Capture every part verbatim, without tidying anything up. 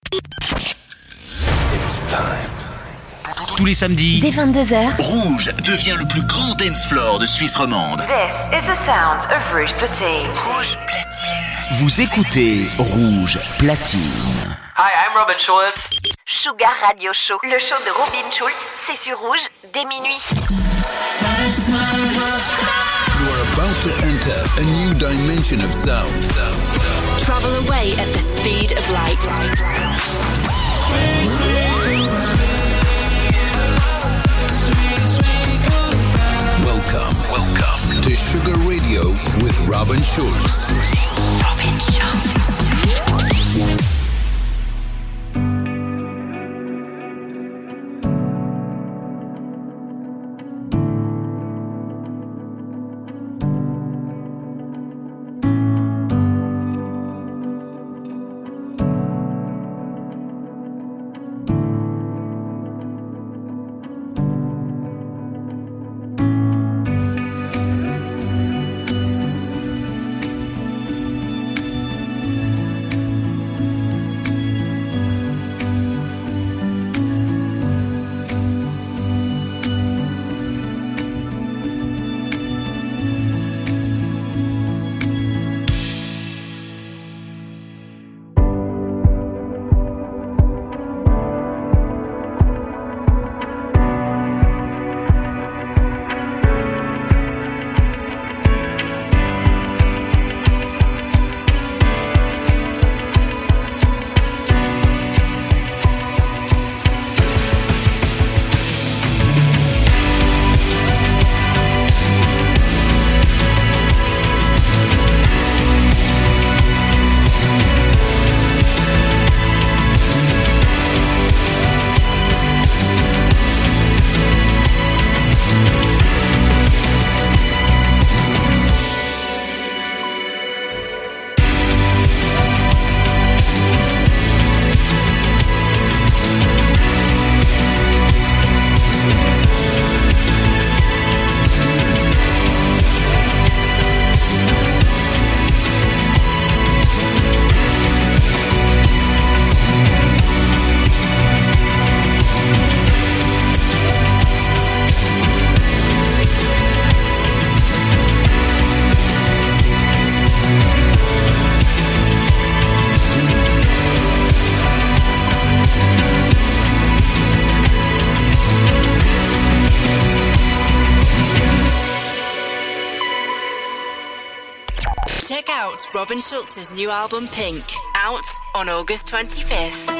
It's time. Tous les samedis, dès vingt-deux heures, Rouge devient le plus grand dance floor de Suisse romande. This is the sound of Rouge Platine. Rouge Platine. Vous écoutez Rouge Platine. Hi, I'm Robin Schulz. Sugar Radio Show, le show de Robin Schulz, c'est sur Rouge dès minuit. You are about to enter a new dimension of sound. Travel away at the speed of light. Welcome, welcome to Sugar Radio with Robin Schulz. Robin Schulz. Robin Schulz's new album Pink, out on August twenty-fifth.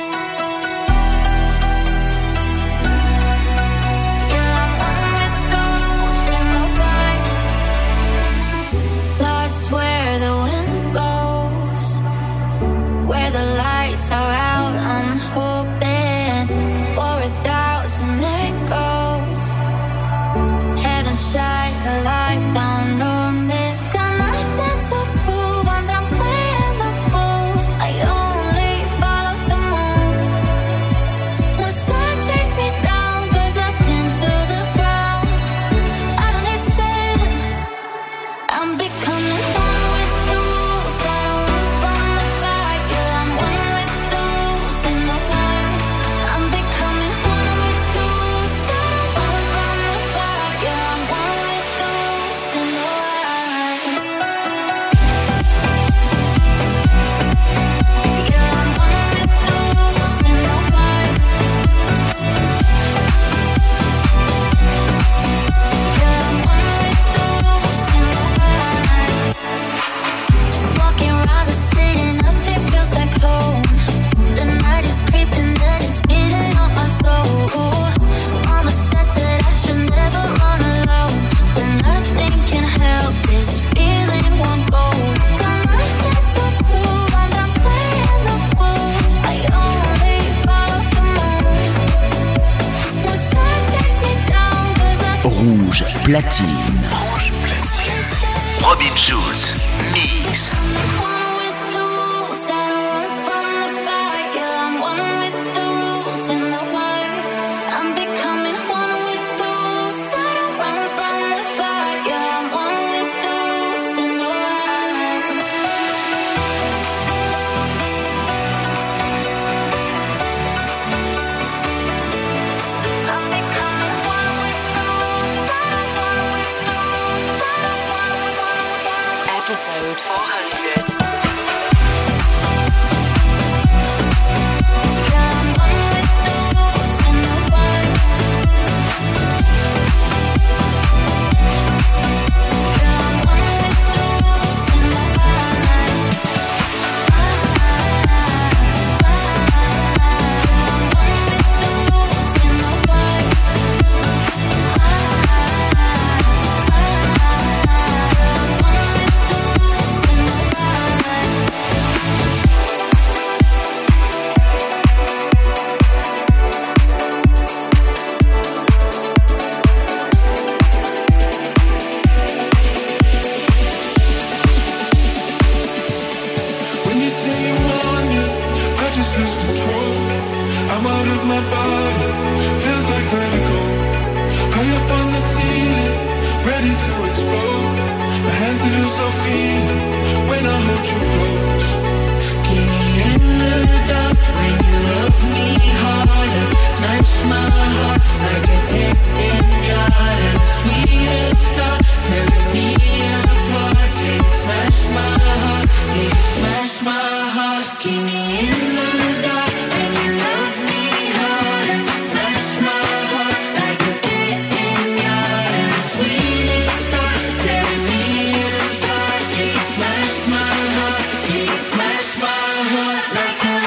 Lost where the wind goes, where the lights are out, I'm hoping for a thousand miracles. Heaven shine a light down on me. Got nothing to prove, I'm done playing the fool. I only follow the moon. When storm takes me down, cause I've been to the ground. I don't need saving, I'm becoming one with the rules. I don't run from the fire, I'm one with the rules and the light. I'm becoming one with the rules. I don't run from the fire, I'm one with the rules and the light. Yeah, I'm one with the rules and the light. Yeah, I'm one with the rules and the light. Walking around the city, nothing feels like home. The night is creeping and it's beating on my soul. Mama said that I should never run alone, but nothing can help this feeling won't go. Got nothing to prove, I'm done playing the fool. I only follow the moon. When storm takes me down, cause I Rouge Platine. Rouge Platine. Robin Schulz, Mix. one with the rules, I don't run from the fire. I'm one with the rules and the light. I'm becoming one with the rules. I don't run from the fire. I'm one with the rules and the light. control. I'm out of my body, feels like vertigo. High up on the ceiling, ready to explode. My hands they lose all feeling when I hold you close. Keep me in the dark when you love me harder. Smash my heart like an Indian and sweetest star, tearing me apart. Yeah, you smash my heart, yeah, you smash my heart. Keep me in the dark when you love me harder. Smash my heart like an Indian and sweetest star, tearing me apart. Yeah, you smash my heart, yeah, you smash my heart like a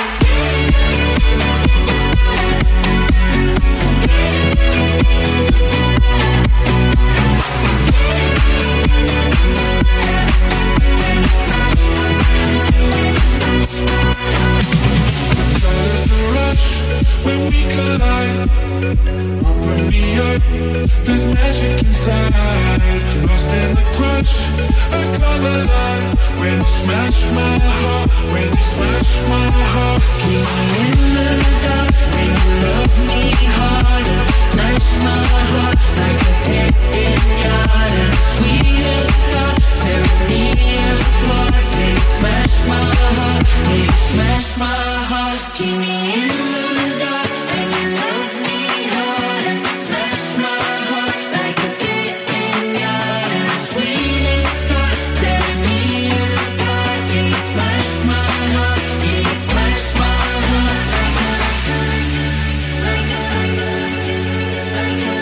when we collide, open me up, there's magic inside. Lost in the crush, I come alive. When you smash my heart, when you smash my heart. Keep me in the dark when you love me harder. Smash my heart like a pinata. Sweetest scar, tearing me apart. Yeah, you smash my heart, yeah, you smash my heart. Keep me in the dark when you love me harder. Smash my heart like a pinata. Sweetest scar, tearing me apart. Yeah, you smash my heart, yeah, you smash my heart like a, like a, like a,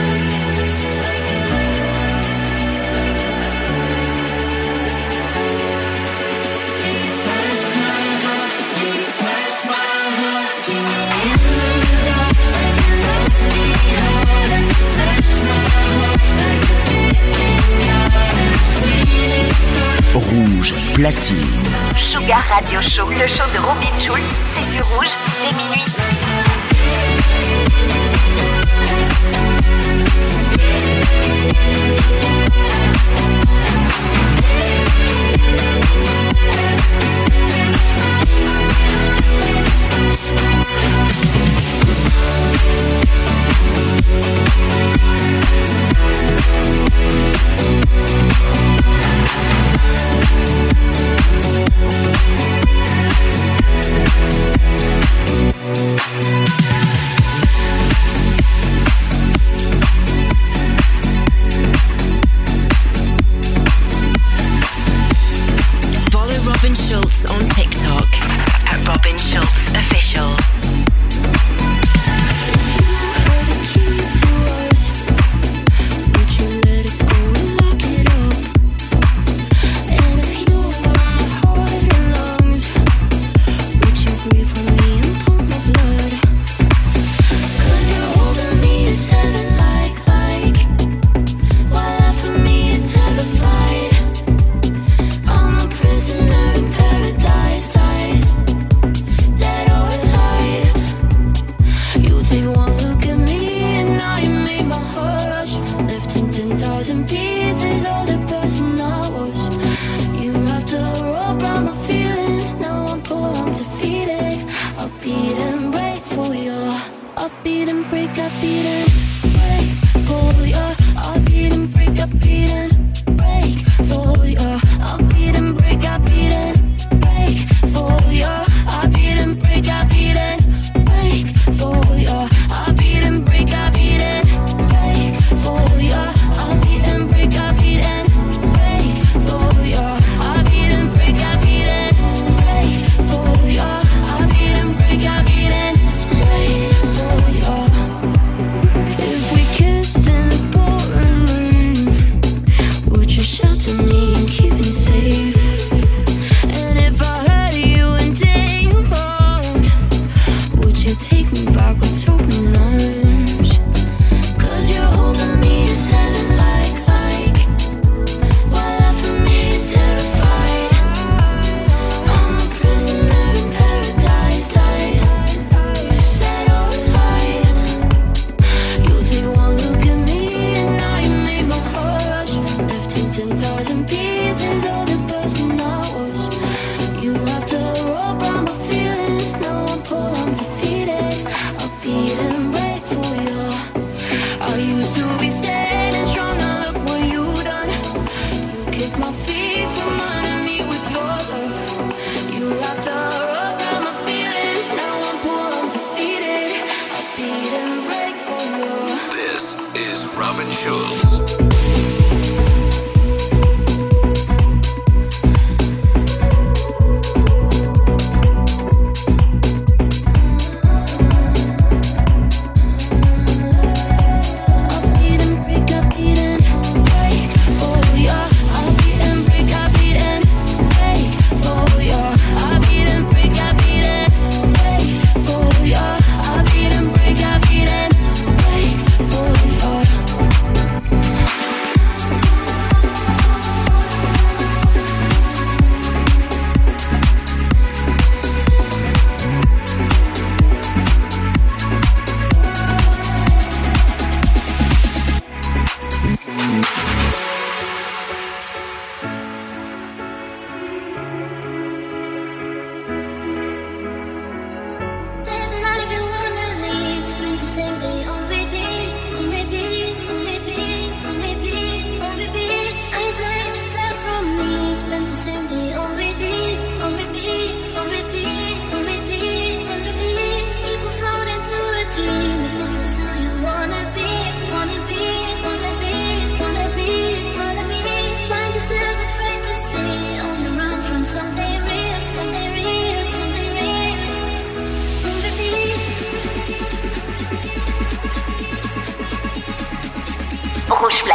yeah, you smash my heart, yeah, you smash my heart. Keep me in the dark when you love me harder. Smash my heart like a pinata. Sweetest scar. Rouge platine. Sugar Radio Show, le show de Robin Schulz, c'est sur Rouge dès minuit. Follow Robin Schulz on TikTok at Robin Schulz Official.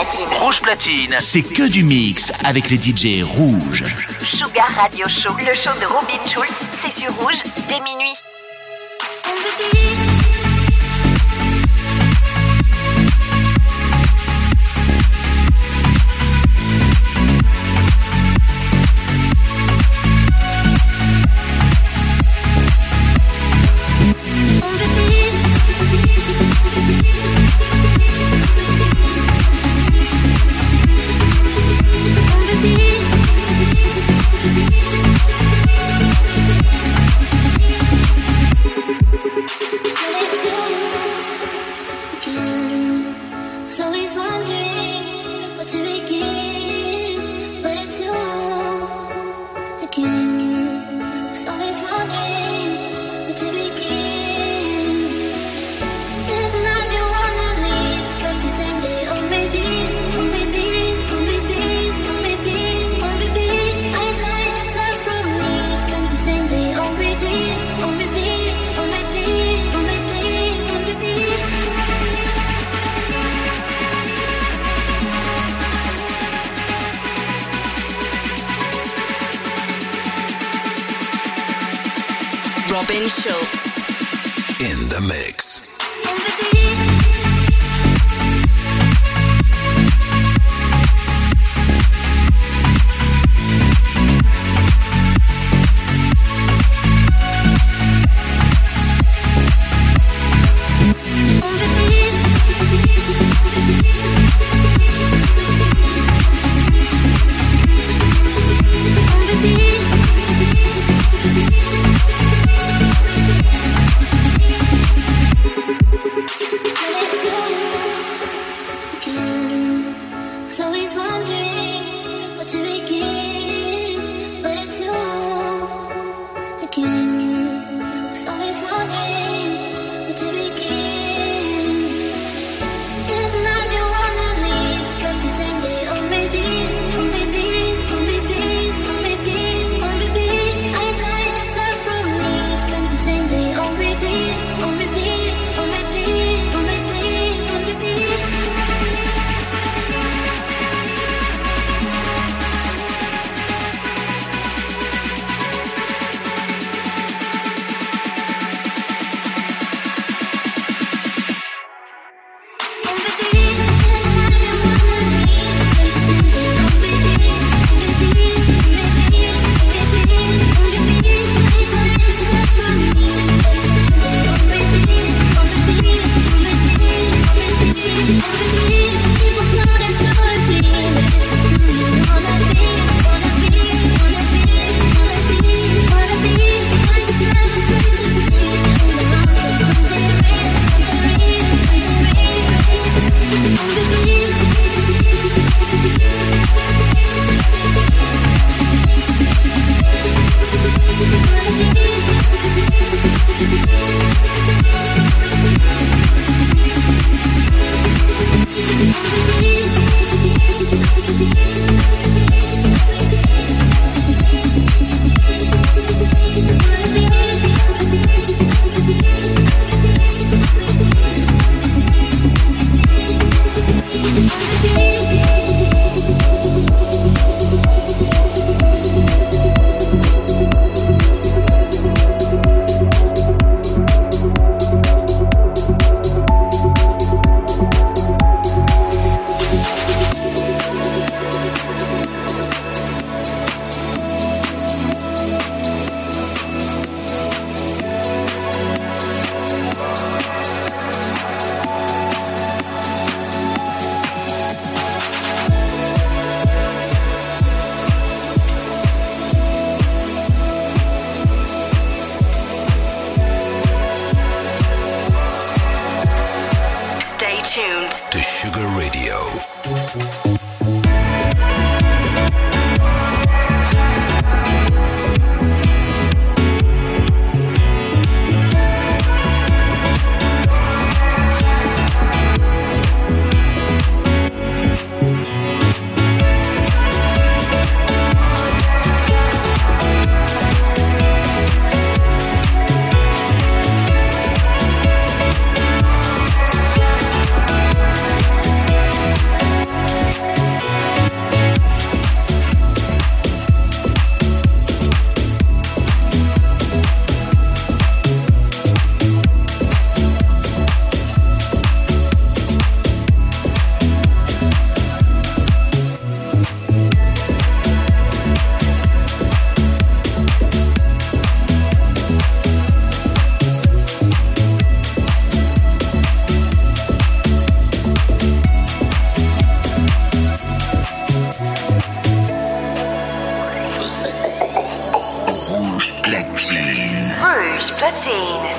Platine. Rouge Platine, c'est que du mix avec les D J rouges. Sugar Radio Show, le show de Robin Schulz, c'est sur Rouge dès minuit. Robin Schulz in the mix.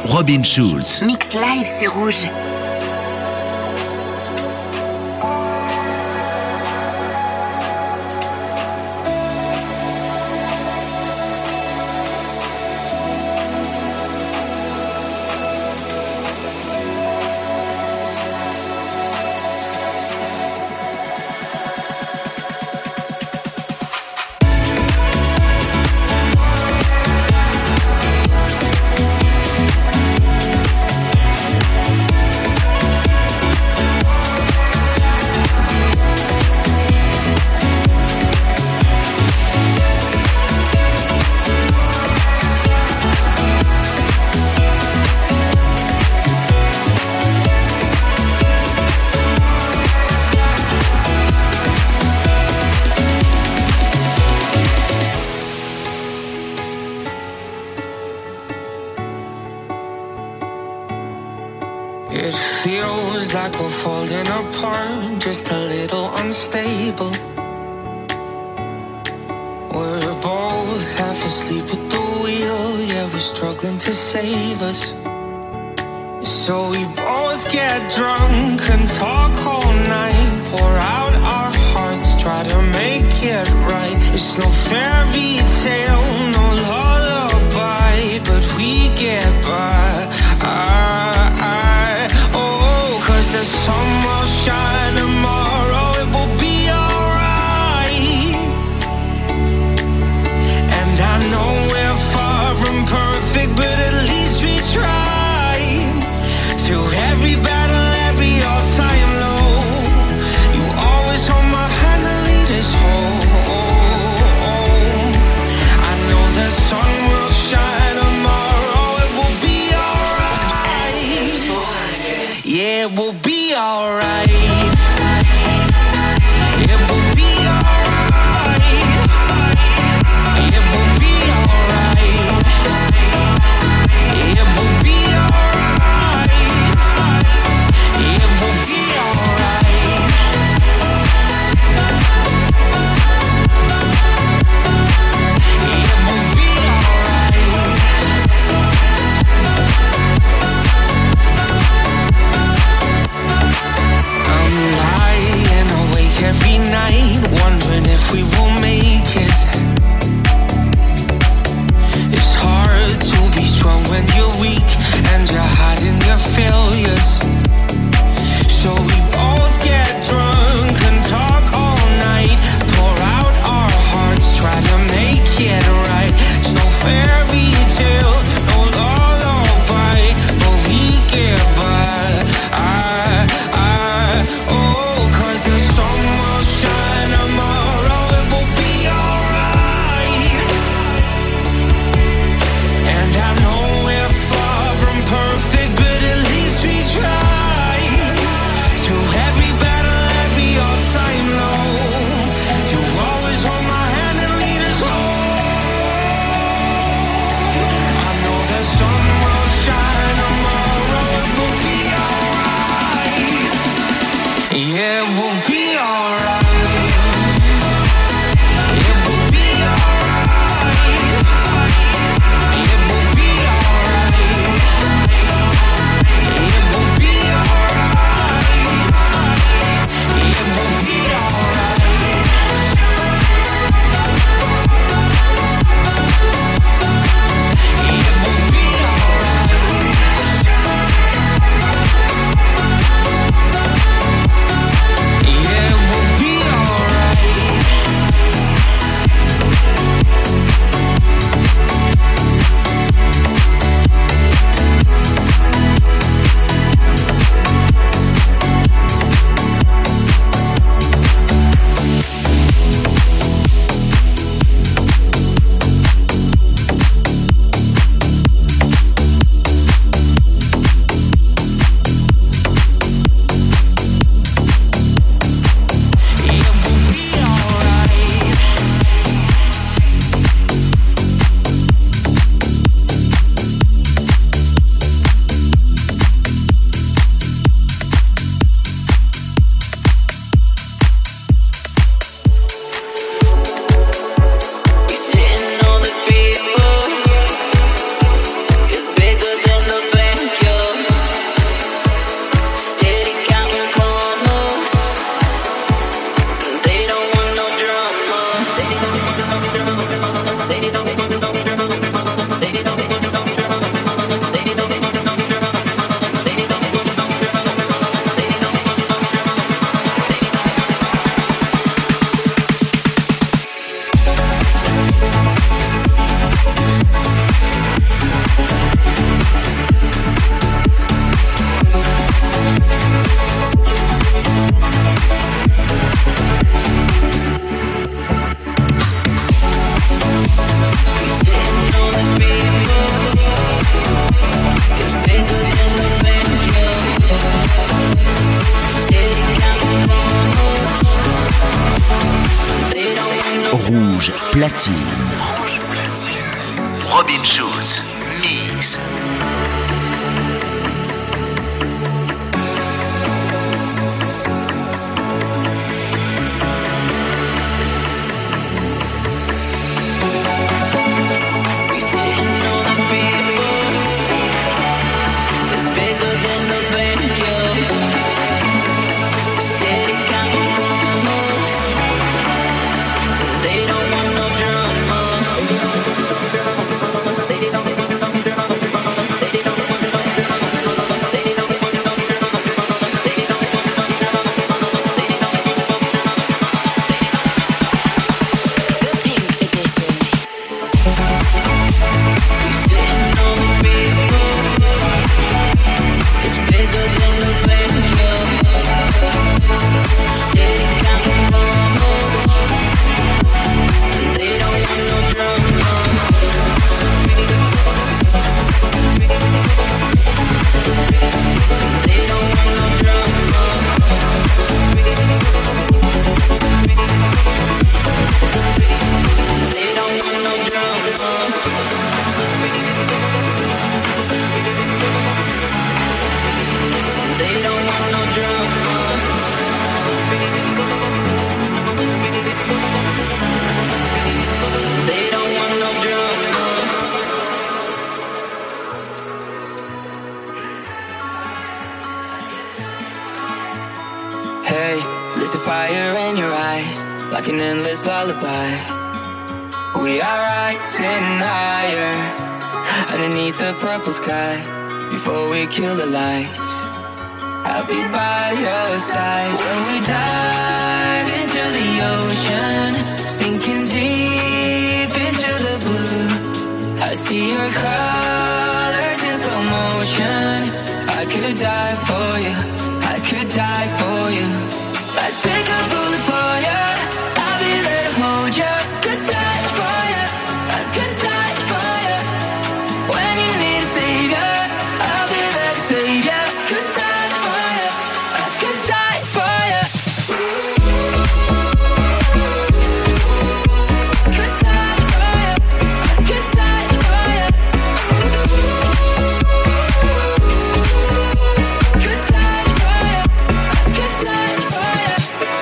Robin Schulz. Mix live sur Rouge. It feels like we're falling apart, just a little unstable. We're both half asleep at the wheel, yeah, we're struggling to save us. So we both get drunk and talk all night, pour out our hearts, try to make it right. It's no fairy tale, no lullaby, but we get by. I, I, oh, cause the sun will shine tomorrow, it will be alright. And I know we're far from perfect, but at least we try. Through every battle, every all-time low, you always hold my hand and lead us home. I know the sun will shine tomorrow, it will be alright. Yeah, it will be alright. It will be alright. It will be alright. It will be alright. It will be alright. It will be alright. I'm lying awake every night, wondering if we will make it. It's hard to be strong when you're weak and you're hiding your failures. So we both get drunk and talk all night, pour out our hearts, try to make it right. It's no fairy tale, no lullaby, but we get by. I, I, oh, cause the sun will shine tomorrow, it will be alright. And I know we're far from perfect, but at least we try. Through every battle, every all-time low, you always hold my hand and lead us home. I know the sun will shine tomorrow, it will be alright. Yeah, it will be alright. It will be alright. It will be alright. It will be alright. It will be alright. It will be alright. Yeah, platine. Rouge platine. Robin Schulz, mix. There's a fire in your eyes, like an endless lullaby. We are rising higher, underneath the purple sky. Before we kill the lights, I'll be by your side. When we dive into the ocean, sinking deep into the blue, I see your colors in slow motion. I could die for you, I could die for you. I'd take a bullet for you, I'll be there to hold you. Could die for you, I could die for you. When you need a savior, I'll be there to save you. Could die for you, I could die for you. Could die for you, I could die for you. Could die for you, I could die for you.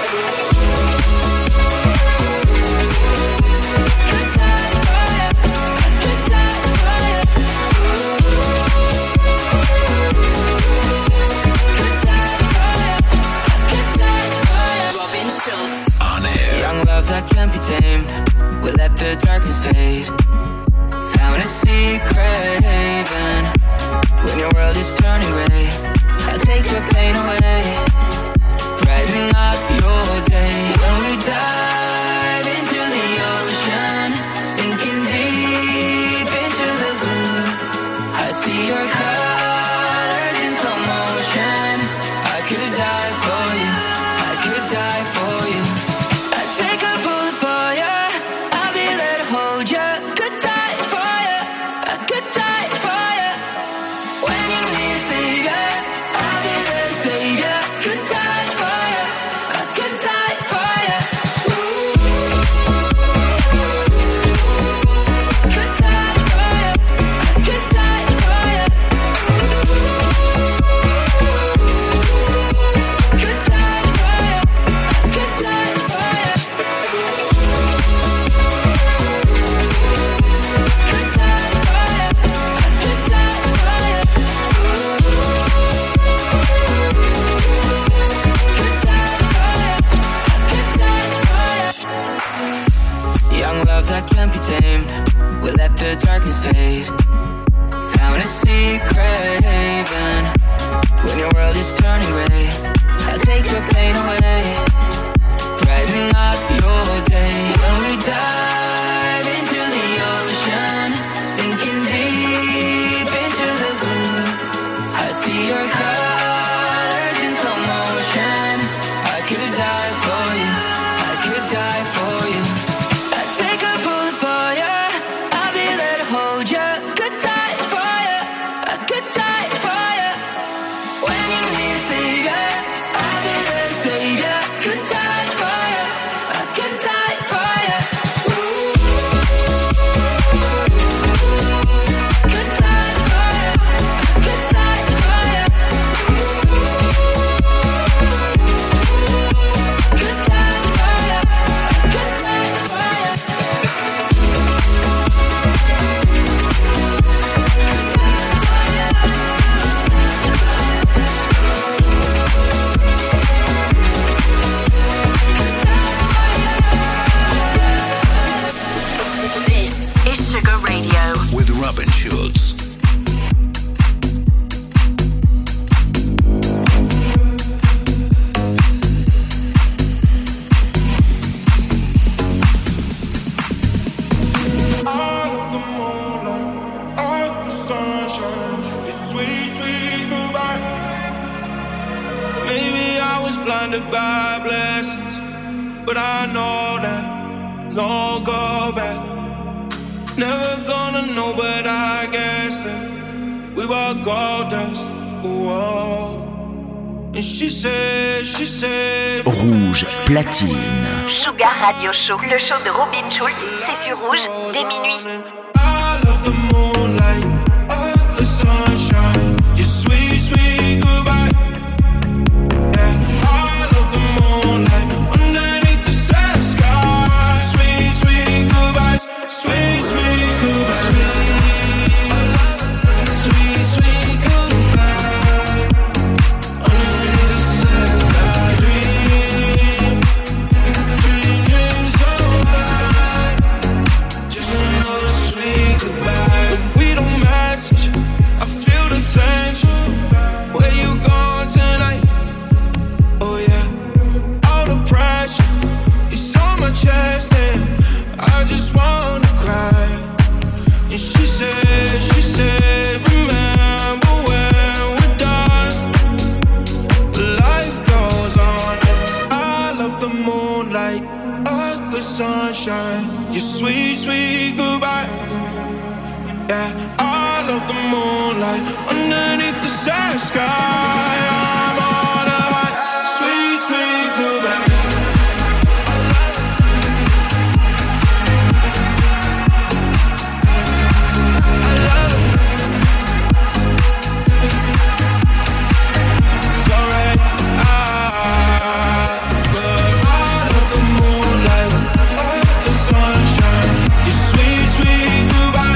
That can't be tamed. We'll let the darkness fade. Found a secret haven. When your world is turning gray, I'll take your pain away, brighten up your day. When we dive into the ocean, sinking deep into the blue, I see your colors in slow motion. I could die for you, I could die for you. Take a bullet for you, I'll be there to hold you. Could die for you, I could die for you. When you need a savior, I'll be there to save you. Could die for you, I could die for you. Could die for you, I could die for you. Could die for you, I could die for you. Young love that can't be tamed. We'll let the darkness fade. Found a secret haven. When your world is turning gray, I'll take your pain away, brighten up your day. When we dive into the ocean, sinking deep into the blue, I see your colors in slow motion. I could die for you, I could die for you. I'd take a bullet for you, I'll be there to hold you. Could die for you, I could die for you. When you need a savior, I'll be there to save you. Could die for you, I could die for you. Ooh. blinded by blessings, but I know that no go back. Never gonna know, but I guess that we were gold dust. Whoa. And she said, she said. Rouge platine. Sugar Radio Show, le show de Robin Schulz, c'est sur Rouge dès minuit. I love the moonlight, oh, the sunshine, your sweet, sweet goodbye. Yeah, I love the moonlight underneath the sad sky. Sweet, sweet goodbyes, sweet, sweet goodbyes. Sweet, sweet goodbye. Underneath the sad sky, dream, dream, dream so high. Just another sweet goodbye. We don't message, I feel the tension. Where you going tonight? Oh yeah, all the pressure is on my chest and I just wanna cry. And she said, she said, remember when we're done, life goes on. I love the moonlight, oh, the sunshine, your sweet, sweet goodbye. Yeah, I love the moonlight underneath the sad sky. I'm on a high, sweet, sweet goodbye. It's alright, I, but I love the moonlight, oh, the sunshine, your sweet, sweet goodbye.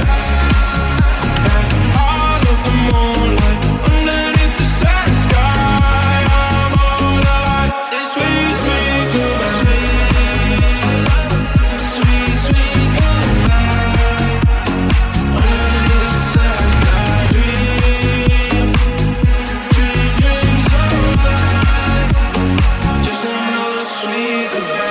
All of the moonlight underneath the sad sky. I'm all alive. This sweet, sweet goodbye. Sweet, sweet goodbye. Underneath the sad sky. Dream, dream, dream so high. Just another sweet goodbye.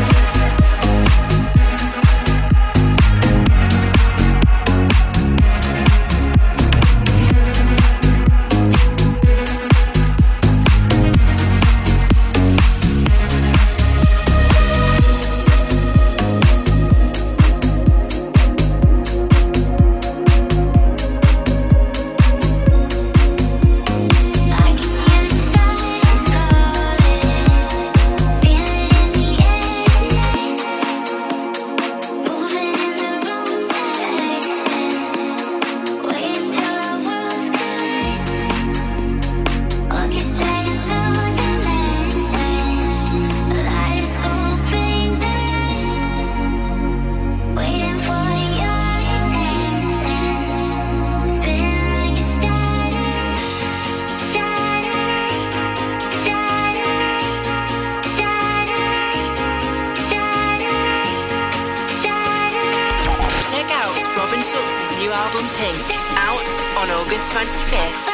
Check out Robin Schulz's new album Pink, out on August twenty-fifth.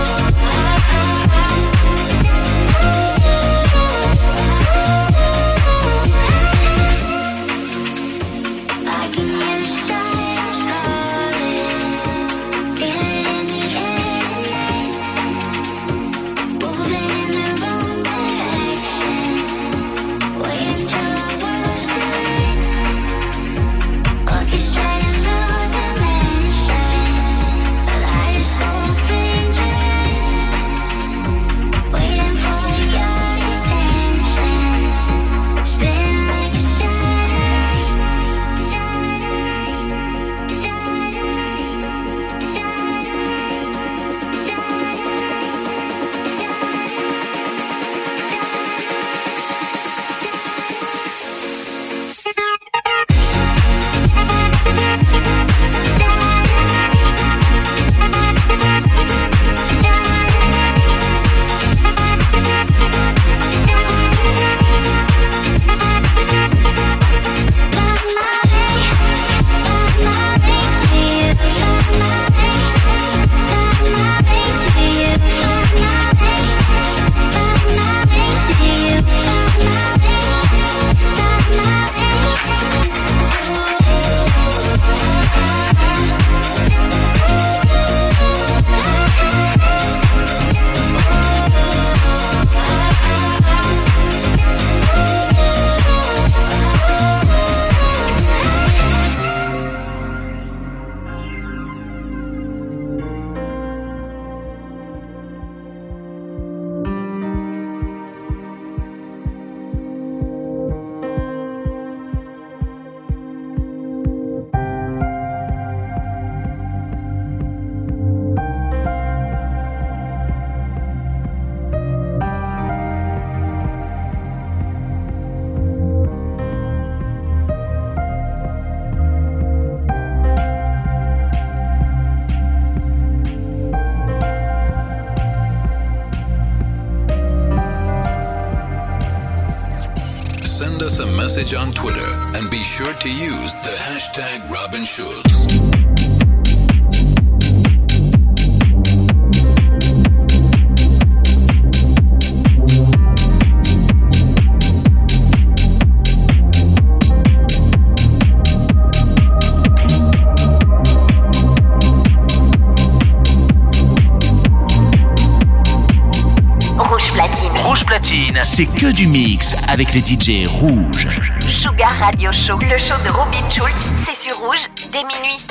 Oh, a message on Twitter and be sure to use the hashtag Robin Schulz. Rouge Platine, c'est que du mix avec les D J rouges. Sugar Radio Show, le show de Robin Schulz, c'est sur Rouge, dès minuit.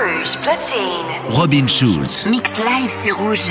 Rouge Platine. Robin Schulz. Mix live sur Rouge.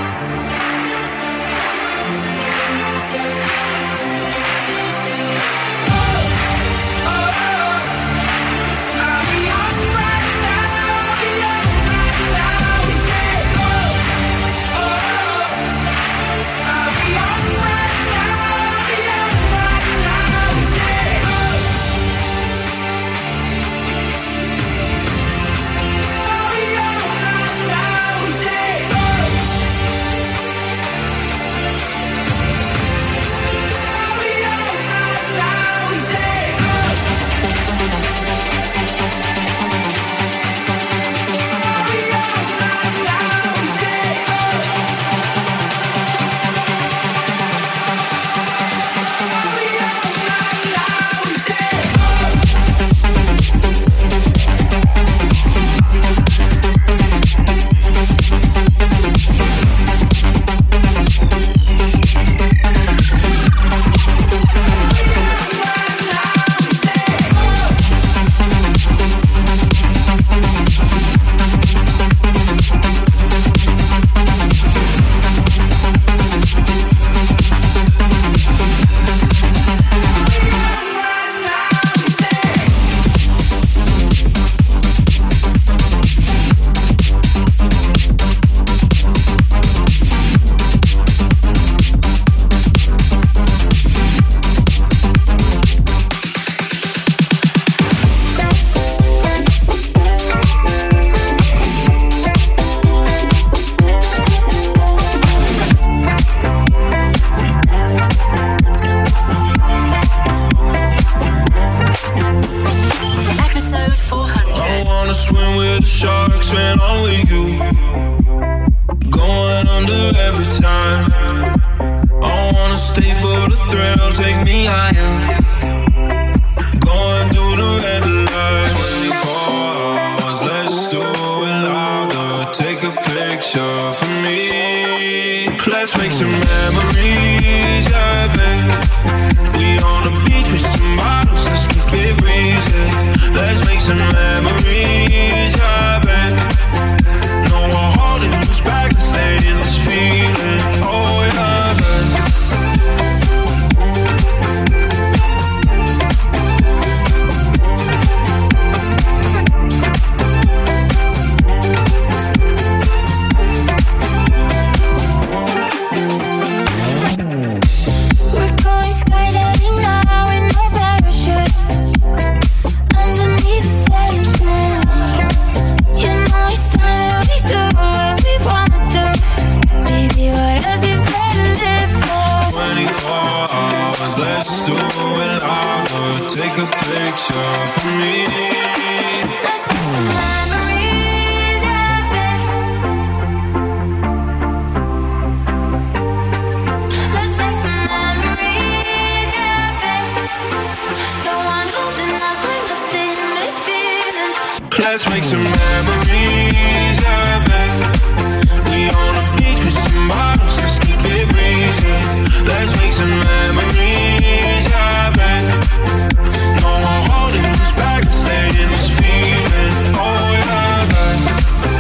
Let's make some memories, yeah, babe. We on the beach with some bottles, let's keep it breezy. Let's make some memories, yeah, babe. No one holding us back, stay in this feeling. Oh, yeah, babe.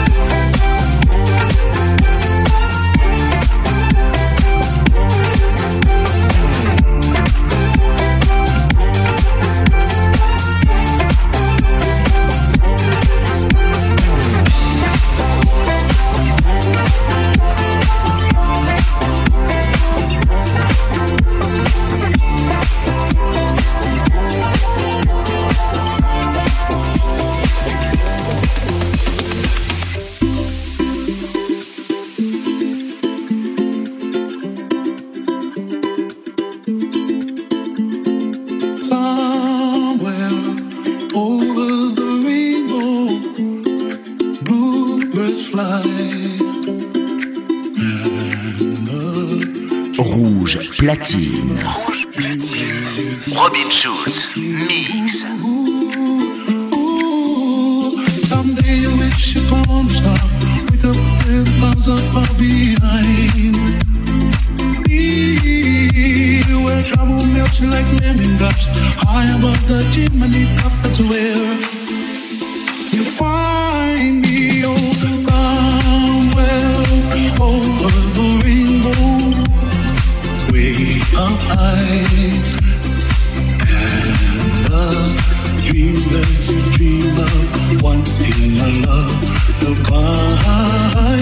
Rouge Platine. Rouge Platine. Robin Schulz. Mix. Someday you wish upon a star. Wake up with clouds are far behind. Me, where trouble melts like lemon drops. High above the chimney top, that's where you find find me oh, somewhere over the rainbow, way up high, and the dreams that you dream of once in a lullaby.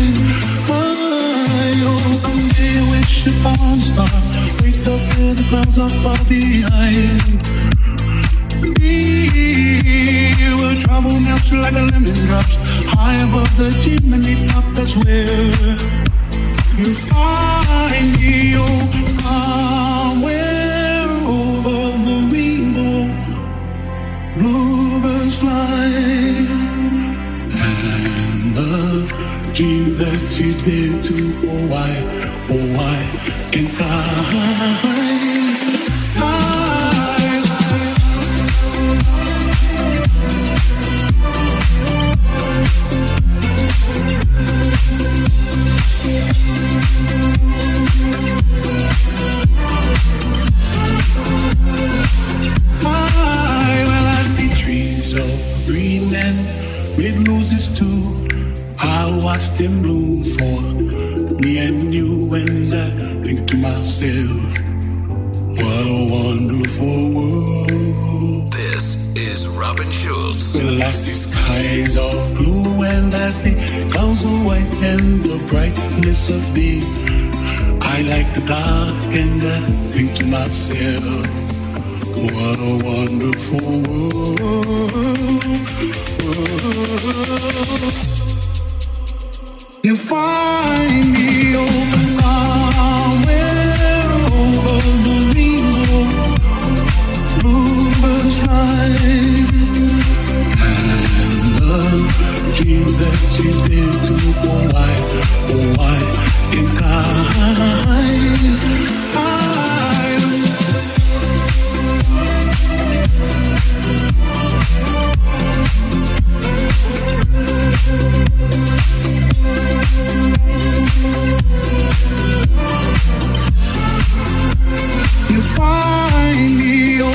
Someday I wish upon a star, wake up where the clouds are far behind. We will travel melts like a lemon drops, high above the chimney top. That's where you find me, oh, somewhere over the rainbow. Bluebirds fly, and the dream that you dare to, oh why, oh why can't I? I well, I see trees of green and red roses too. I watch them bloom for me and you, and I think to myself, what a wonderful world. This is Robin Schulz. Well, I see skies of blue and I see clouds of white and the brightness of day. I like the dark and I think to myself, what a wonderful world. You find me oh, somewhere over the rainbow. Bluebirds fly, and the dream that you did to, oh why, oh why can't I? You find me oh.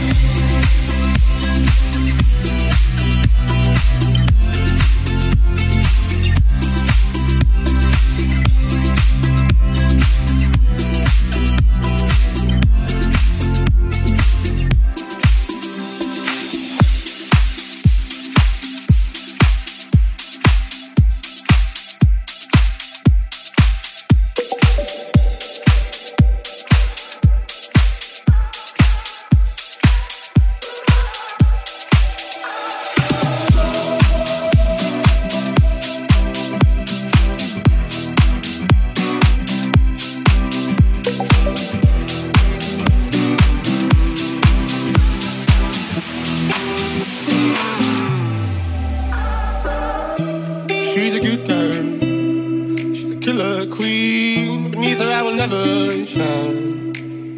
She's a good girl, she's a killer queen. Beneath her I will never shine.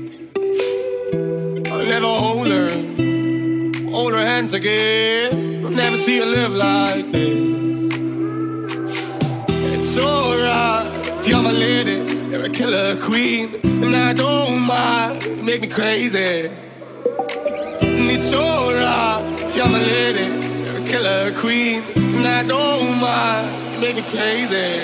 I'll never hold her, hold her hands again. I'll never see her live like this. It's alright if you're my lady, you're a killer queen, and I don't mind, you make me crazy. And it's alright if you're my lady, you're a killer queen, and I don't mind, you make me crazy.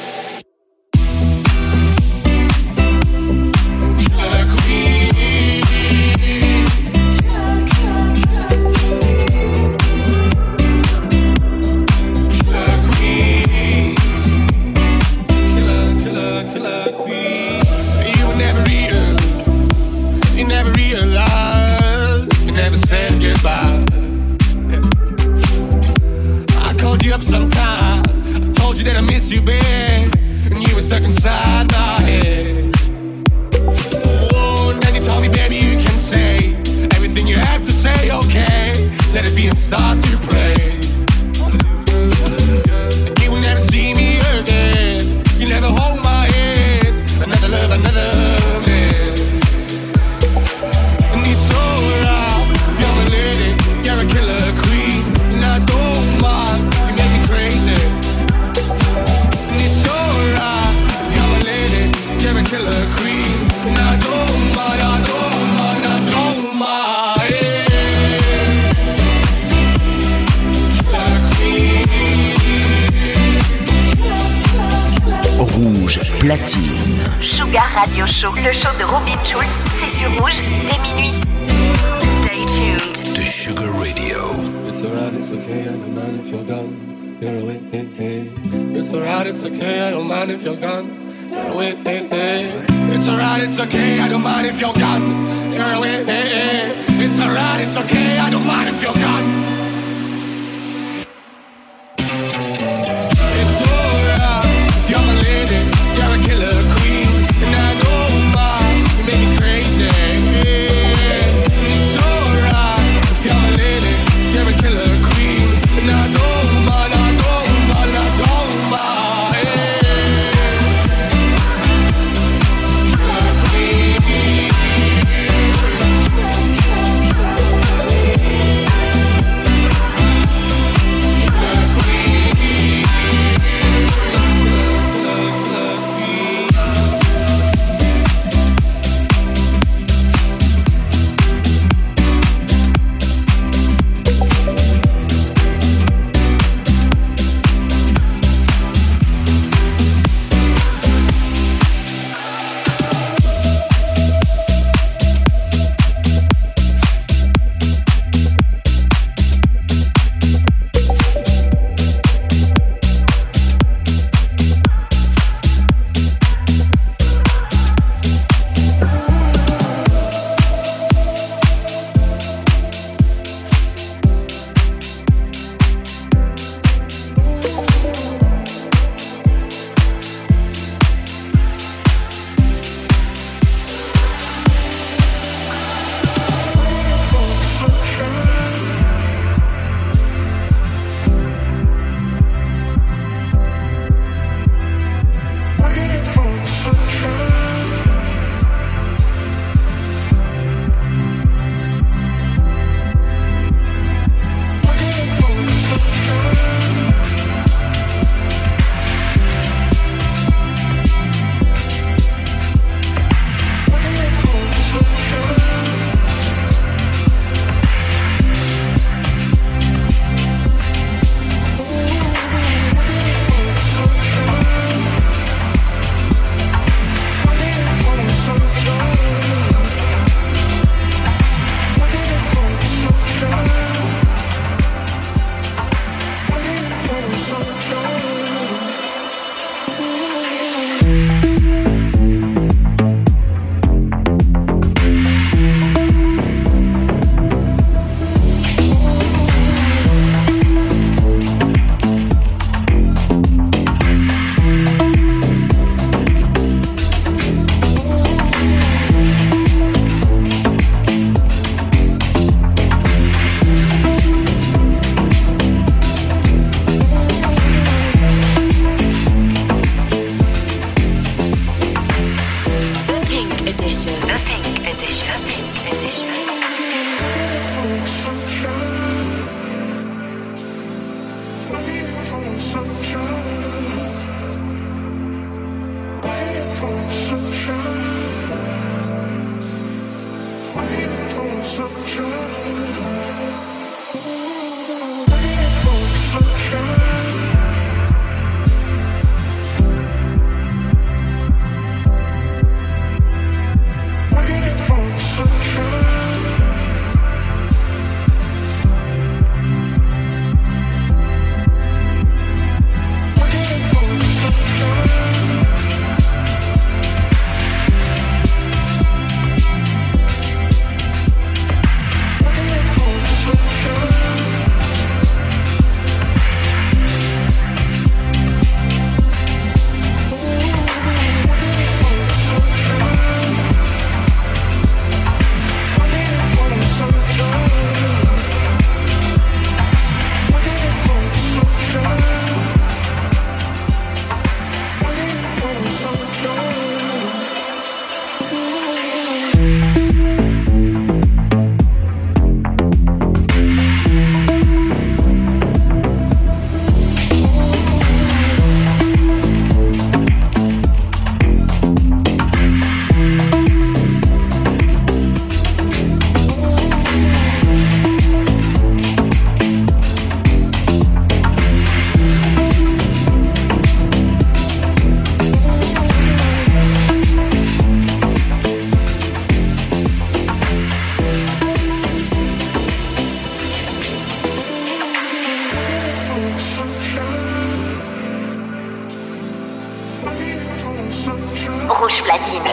Killer queen, killer, killer, killer, killer queen, killer, killer, killer queen. You were never real, you never realized, you never said goodbye. Called you up sometimes, I told you that I miss you, babe, and you were stuck inside my head. Oh, and then you told me, baby, you can say everything you have to say, okay, let it be and start to pray. And you will never see me again, you never hold my hand, another love, another man. And it's alright, if you're my lady, you're a killer queen, and I don't mind, crazy. And it's alright if you're my lady, you're a killer queen, and I don't mind, I don't mind, I don't mind. platine. Sugar Radio Show, le show de Robin Schulz, c'est sur Rouge dès minuit. Stay tuned to Sugar Radio. It's alright, it's okay, I don't mind if you're gone. You're away, hey, hey. It's alright, it's okay, I don't mind if you're gone. You're away, hey, hey. It's alright, it's okay, I don't mind if you're gone. You're away, hey, hey. It's alright, it's okay, I don't mind if you're gone.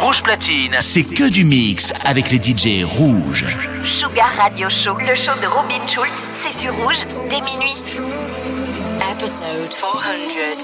Rouge Platine, c'est que du mix avec les D J rouges. Sugar Radio Show, le show de Robin Schulz, c'est sur Rouge dès minuit. Episode four hundred.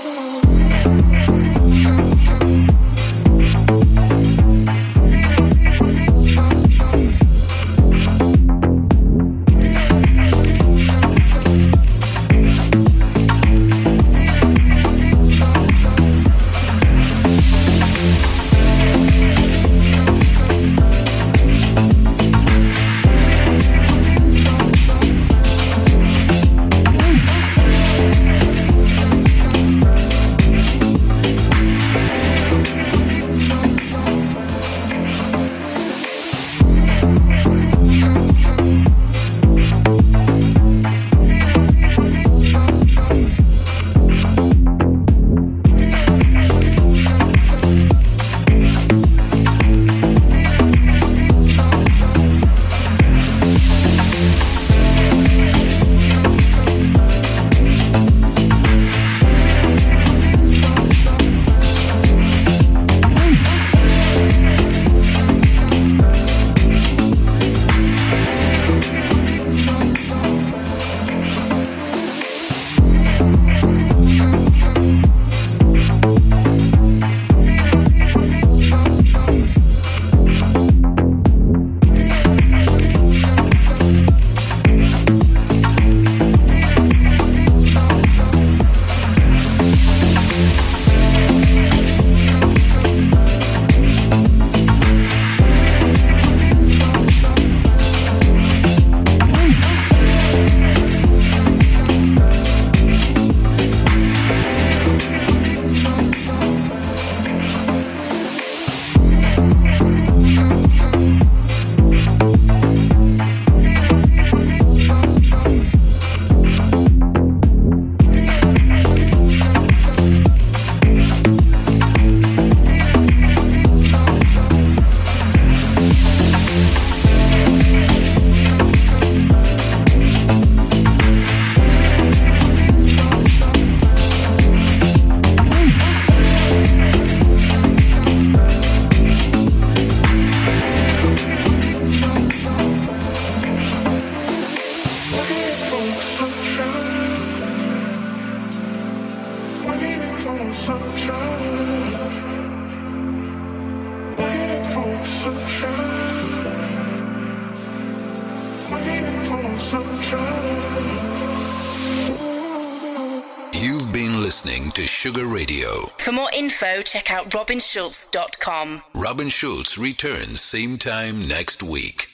You've been listening to Sugar Radio. For more info, check out robin schultz dot com. Robin Schultz returns same time next week.